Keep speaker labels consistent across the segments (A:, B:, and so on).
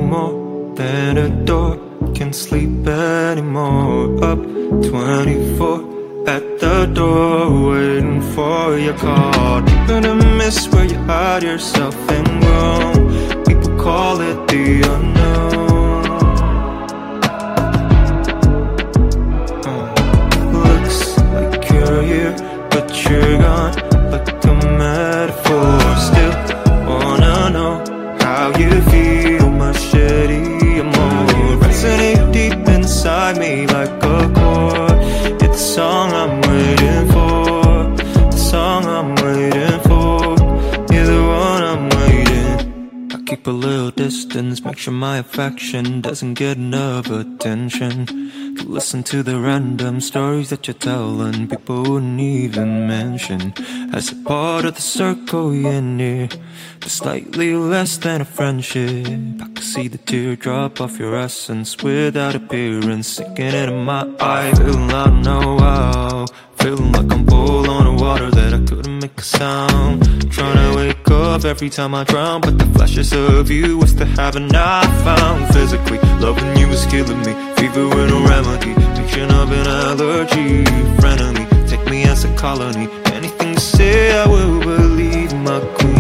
A: more than a door. Can't sleep anymore. Up 24 at the door, waiting for your call. Deep in the mist where you hide yourself and grow. People call it the unknown. Looks like you're here, but you're gone, like a metaphor. Still wanna know how you feel, my shitty emotion resonate deep inside me like a chord. It's the song I'm waiting for, the song I'm waiting for. You're the one I'm waiting. I keep a little distance, make sure my affection doesn't get enough attention. To listen to the random stories that you're telling, people wouldn't even mention. As a part of the circle you're near, but slightly less than a friendship. I can see the teardrop of your essence without appearance, sinking into my eye. Feeling I don't know how, feeling like I'm full on the water that I couldn't make a sound. Trying to wake up every time I drown, but the flashes of you was the haven't I found. Physically, loving you is killing me, fever with no remedy, picture of an allergy. Frenemy, take me as a colony, anything you say I will believe, my queen.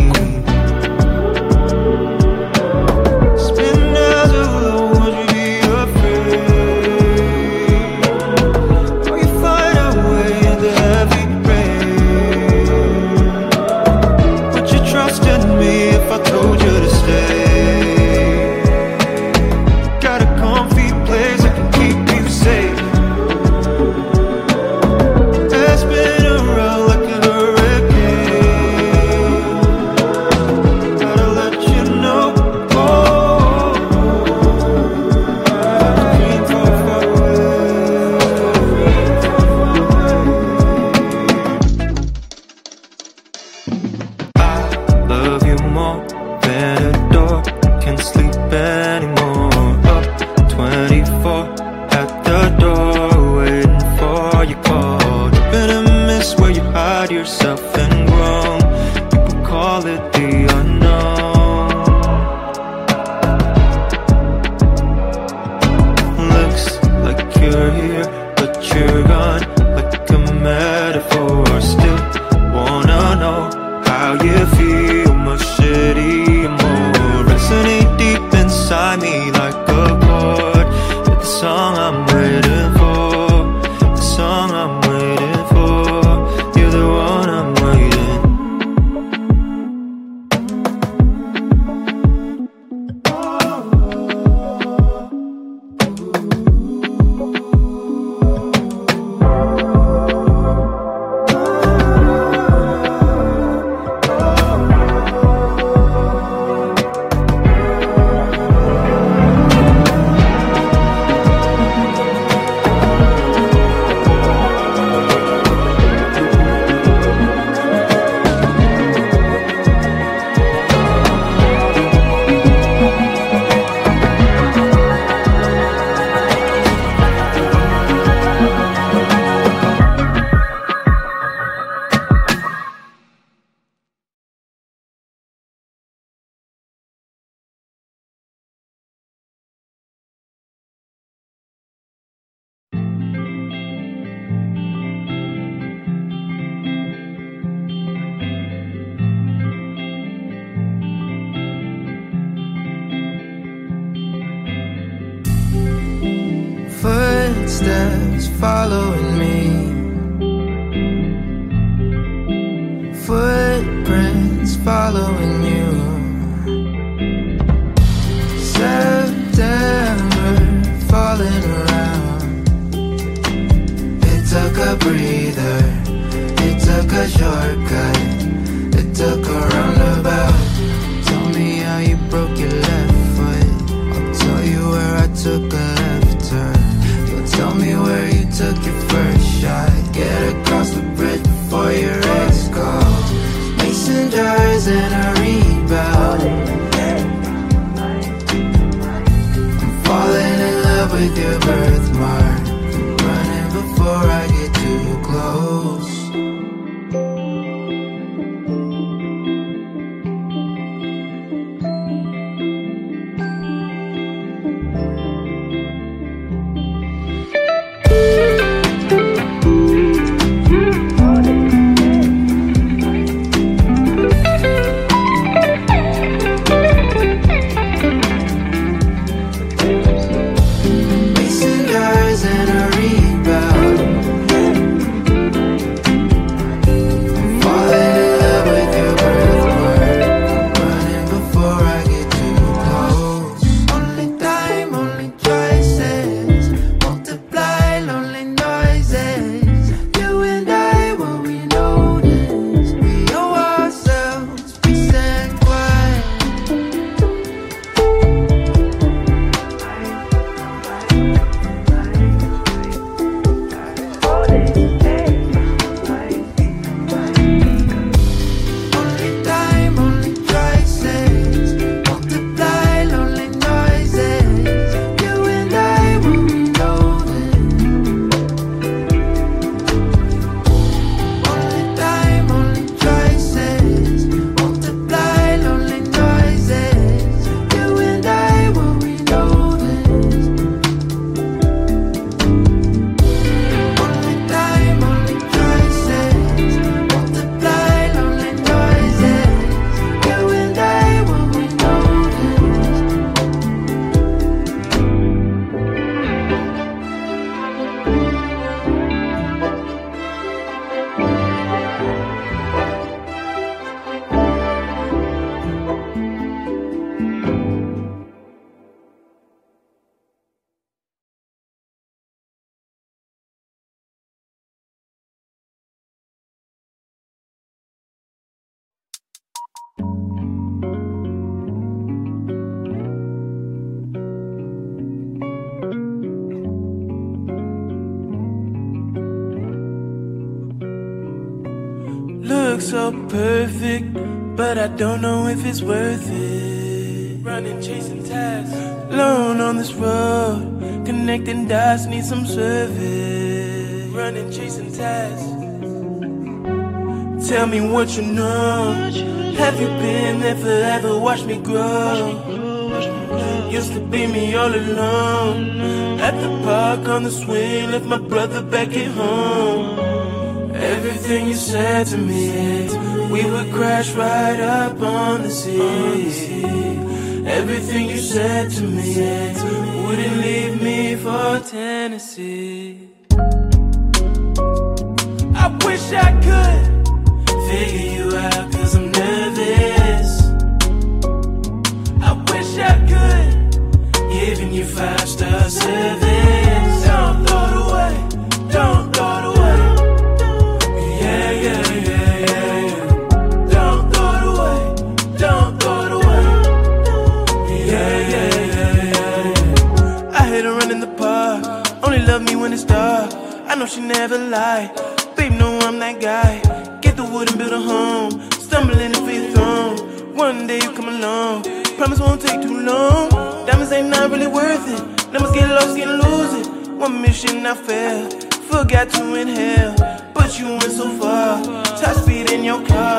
B: Footsteps following me, footprints following you. September falling around. It took a breather, it took a shortcut, it took a roundabout. Tell me how you broke your left foot, I'll tell you where I took a left turn. Tell me where you took your first shot. Get across the bridge before your ex calls. Mason jars and a rebound. I'm falling in love with your birthmark. I'm running before I get too close.
C: looks so perfect, but I don't know if it's worth it. Running, chasing tasks, alone on this road, connecting dots, need some service. Running, chasing tasks. Tell me what you know. Have you been there forever? Watch me grow. Used to be me all alone. At the park on the swing, left my brother back at home. Everything you said to me, we would crash right up on the sea. Everything you said to me, wouldn't leave me for Tennessee. I wish I could figure you out, 'cause I'm nervous. I wish I could, giving you 5-star service. Don't throw it away, don't throw it away. Yeah, yeah, yeah, yeah, yeah. Don't throw it away, don't throw it away. Yeah, yeah, yeah, yeah, yeah. I hate to run in the park, only love me when it's dark. I know she never lied, babe, know I'm that guy. Get the wood and build a home, stumbling and feel thrown. One day you come along, promise won't take too long. Diamonds ain't not really worth it, numbers get lost, get lose it. One mission I failed, forgot to inhale, but you went so far. Top speed in your car.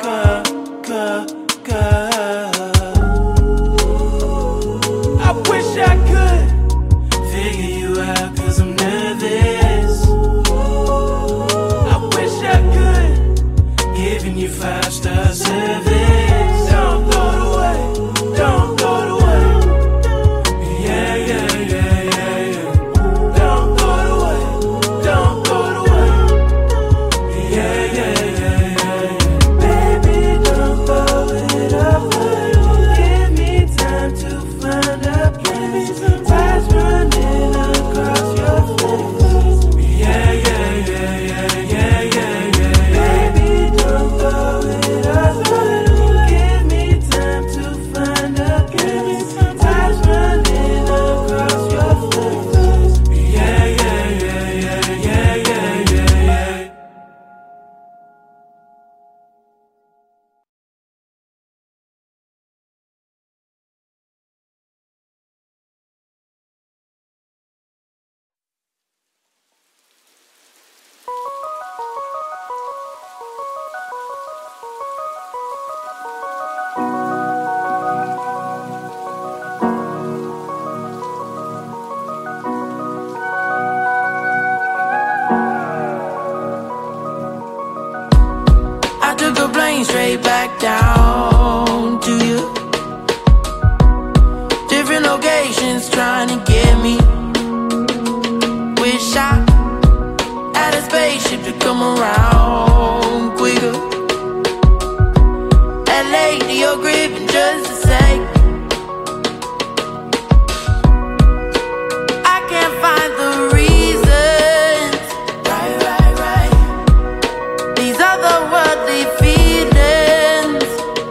C: I wish I could figure you out, 'cause I'm nervous. I wish I could, giving you 5-star service. Don't throw it away, don't throw it away. Yeah, yeah, yeah, yeah, yeah. Don't throw it away, don't throw it away. Yeah, yeah, yeah, yeah, yeah. Baby, don't throw it away. Give me time to find a place. Eyes running across your face. Yeah, yeah, yeah, yeah, yeah, yeah, yeah. Baby, don't throw it away. Give me time to find a place. Eyes running across your face. Yeah, yeah, yeah, yeah, yeah, yeah, yeah, yeah. I took a plane straight back down to you. Different locations trying to get me. Wish I had a spaceship to come around quicker. LA to your crib in just a sec. I can't find the reasons. Right. These otherworldly feelings.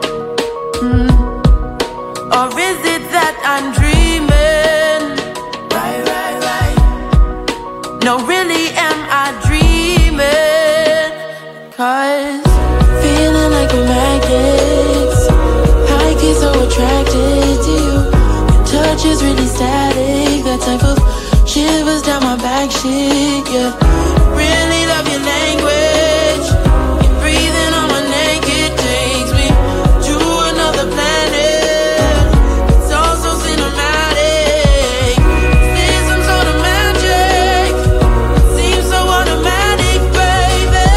C: Or is it that I'm dreaming? Right. No, really, am I dreaming? 'Cause feeling like we're magnets. I get so attracted to you. Your touch is really static. That type of shivers down my back shit, yeah. Really love your language. You're breathing on my neck, it takes me to another planet. It's all so cinematic. There's some sort of magic. It seems so automatic, baby.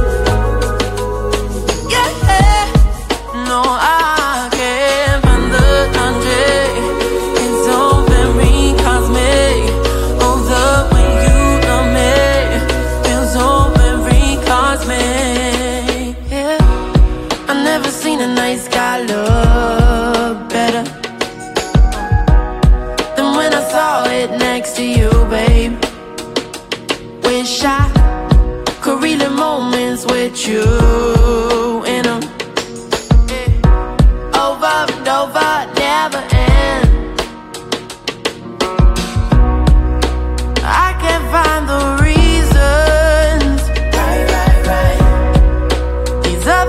C: Yeah. No, I can't find the logic. It's so very cosmic. Oh, the way you love me feels so very cosmic. Yeah, I've never seen a night sky look better than when I saw it next to you, babe. Wish I could relive moments with you in 'em. Over and over, never end. I can't find the reasons. Right. These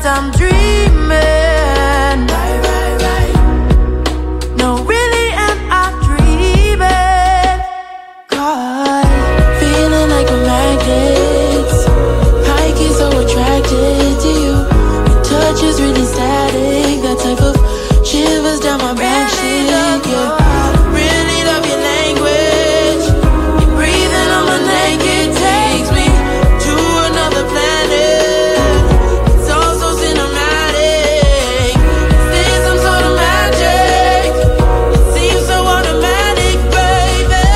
B: that I'm dreaming. Right. No, really am I dreaming? God, feeling like a magnet. I get so attracted to you. Your touch is really static. That type of shivers down my back shit, yeah. Really love your language. You're breathing on my neck. It takes me to another planet. It's all so cinematic. Is this some sort of magic? It seems so automatic, baby.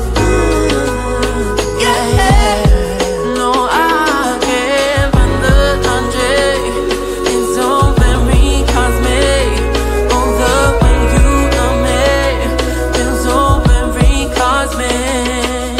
B: Yeah. No, I can't find the logic. It's so very cosmic. Oh, the way you love me feels so very cosmic.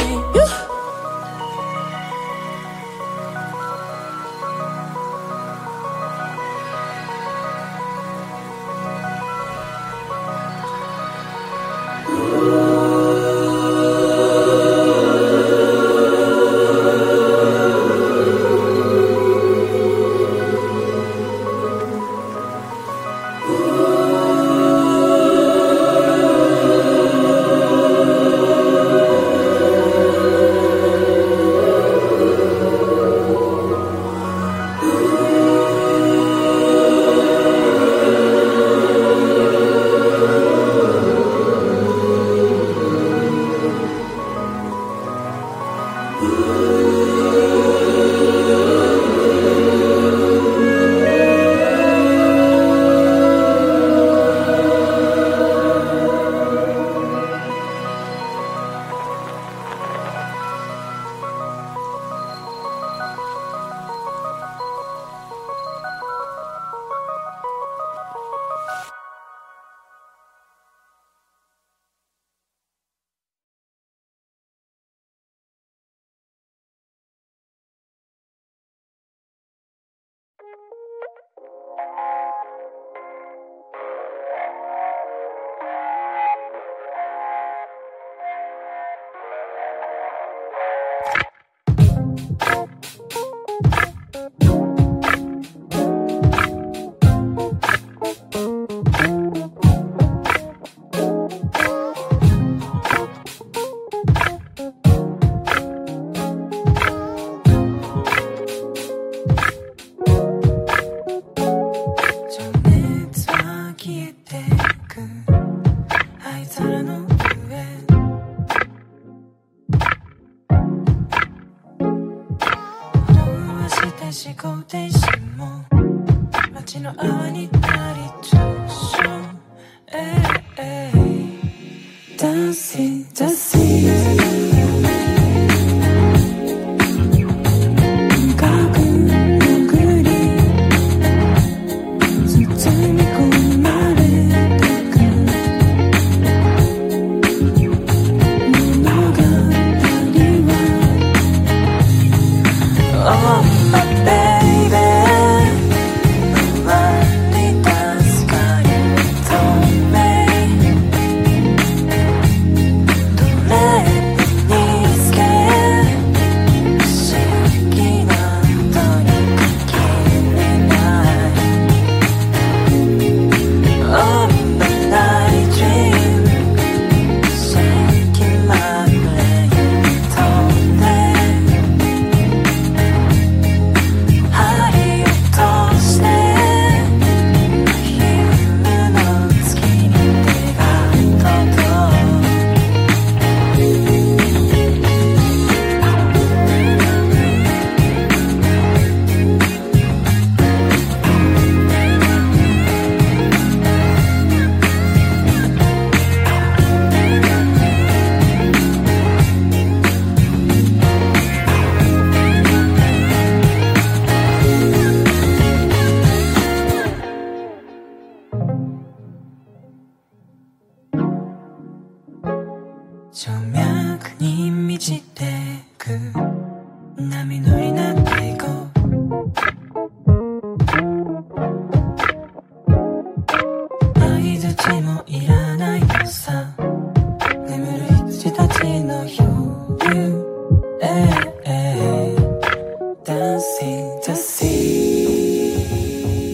D: Dancing to see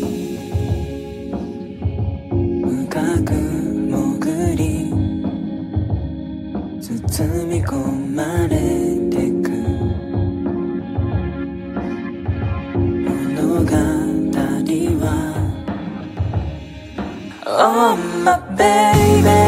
D: 흘러가다니와 Oh my baby